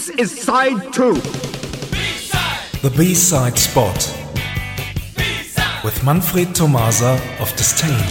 This is side 2. The B-side spot. With Manfred Tomasa of Disdain.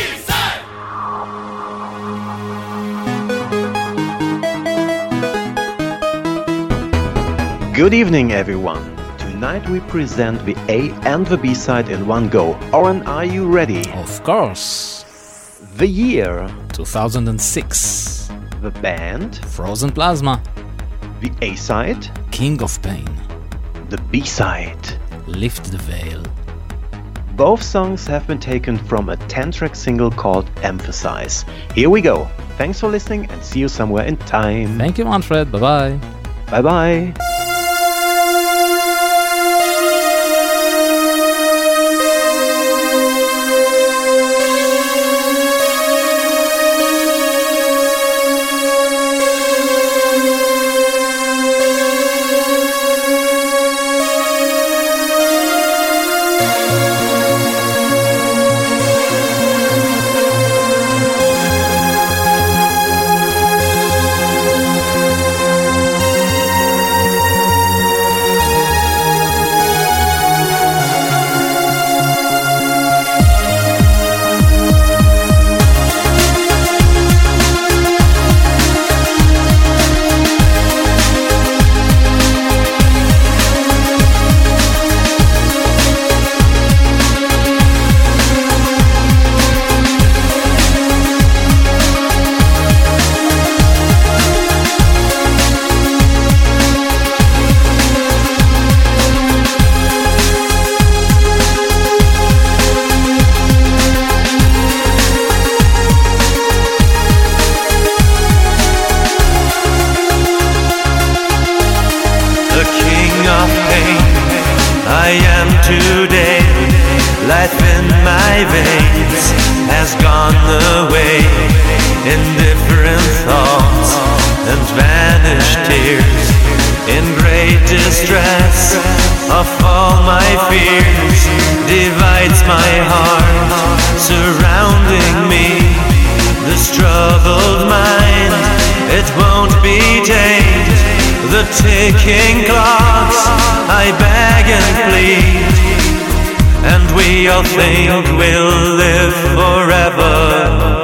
Good evening, everyone. Tonight we present the A and the B-side in one go. Oren, are you ready? Of course. The year. 2006. The band. Frozen Plasma. The A-side. King of Pain. The B-side. Lift the Veil. Both songs have been taken from a 10-track single called Emphasize. Here we go. Thanks for listening and see you somewhere in time. Thank you, Manfred. Bye-bye. Bye-bye. I am today, life in my veins has gone away. Indifferent thoughts and vanished tears, in great distress of all my fears, divides my heart surrounding me. This troubled mind, it won't be tamed. The ticking clocks, I beg and plead, and we all think we'll live forever.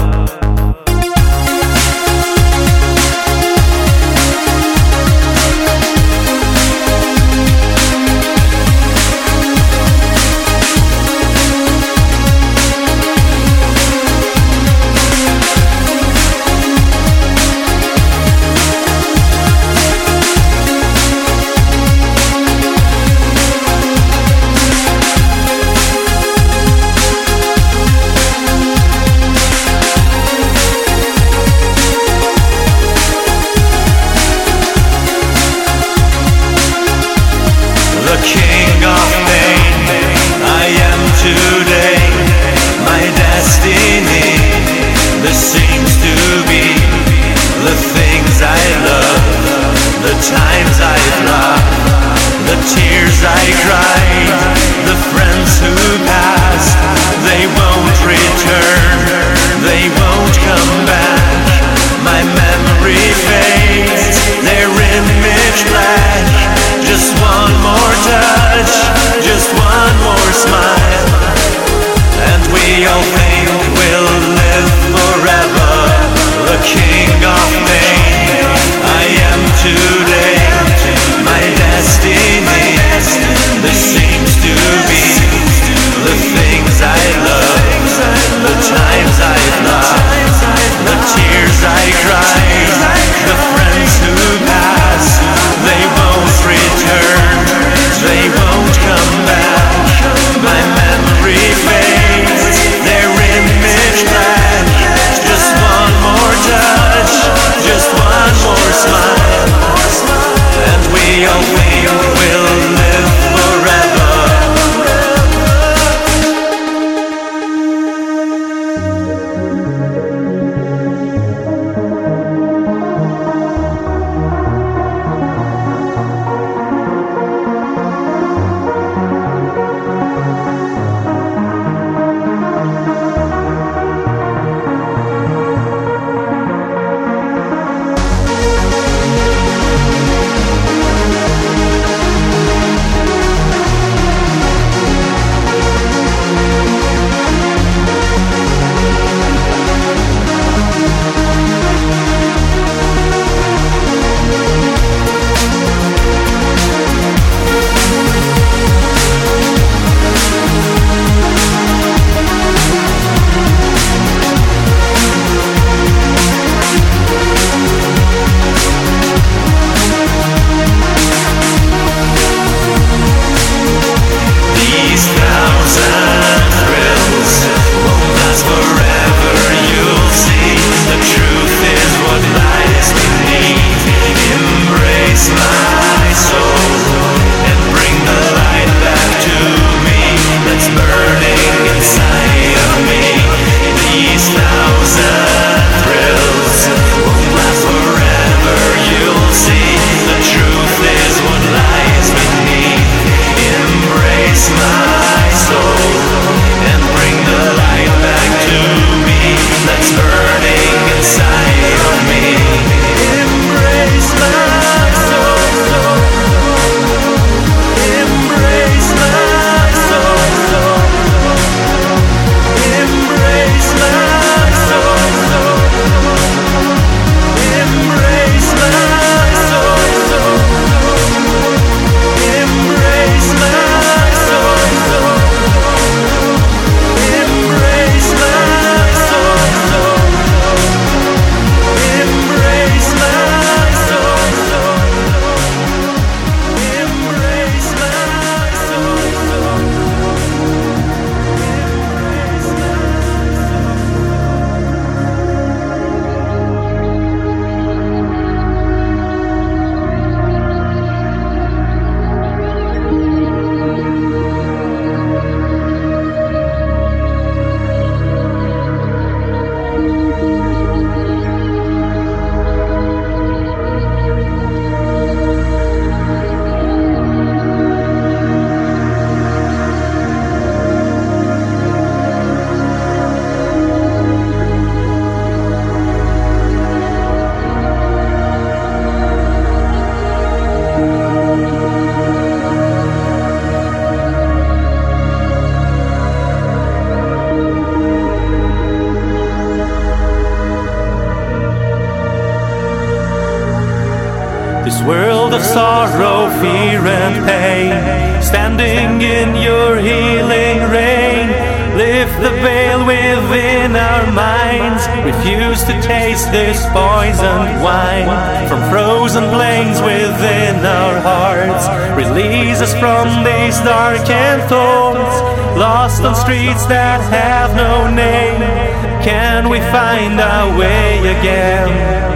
King of pain, I am today, my destiny. This seems to be the things I love, the times I've loved, the tears I cried, the friends who passed. They won't return, they won't come back. My memory fades, their image black. Just one more touch, just one more smile, and we all think we'll live forever. The king of pain, I am today, my destiny. world of sorrow, fear and pain, standing in your healing rain. Lift the veil within our minds, refuse to taste this poisoned wine. From frozen plains within our hearts, release us from these darkened thorns. Lost on streets that have no name, can we find our way again?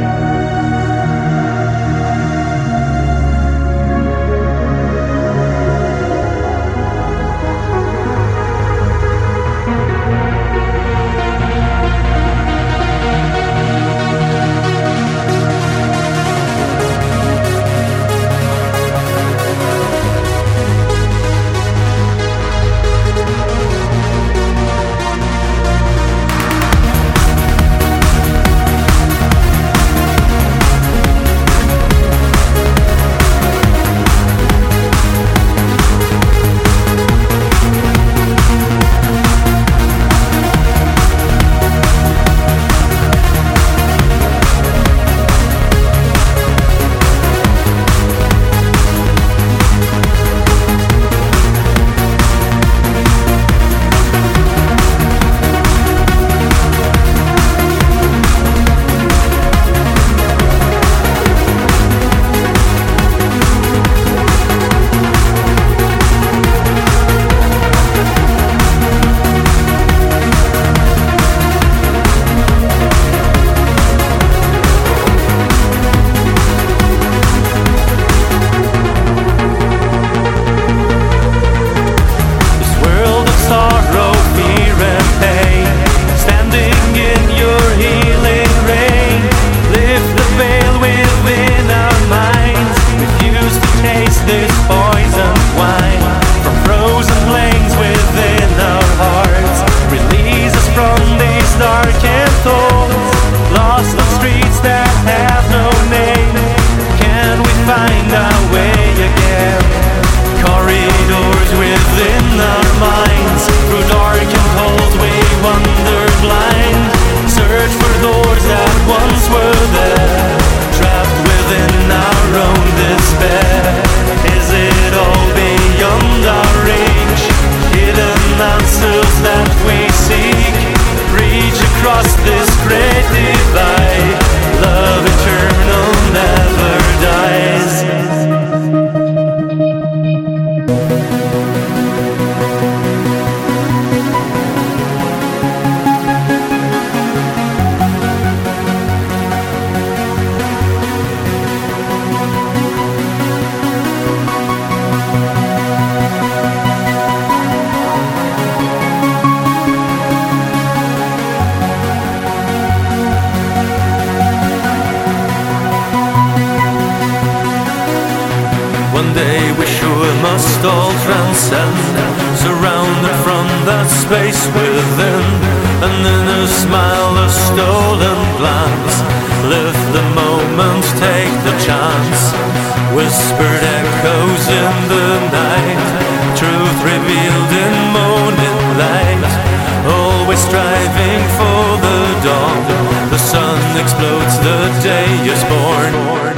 One day we sure must all transcend, surrounded from that space within. And in a smile, a stolen glance, live the moment, take the chance. Whispered echoes in the night, truth revealed in morning light. Always striving for the dawn, the sun explodes, the day is born.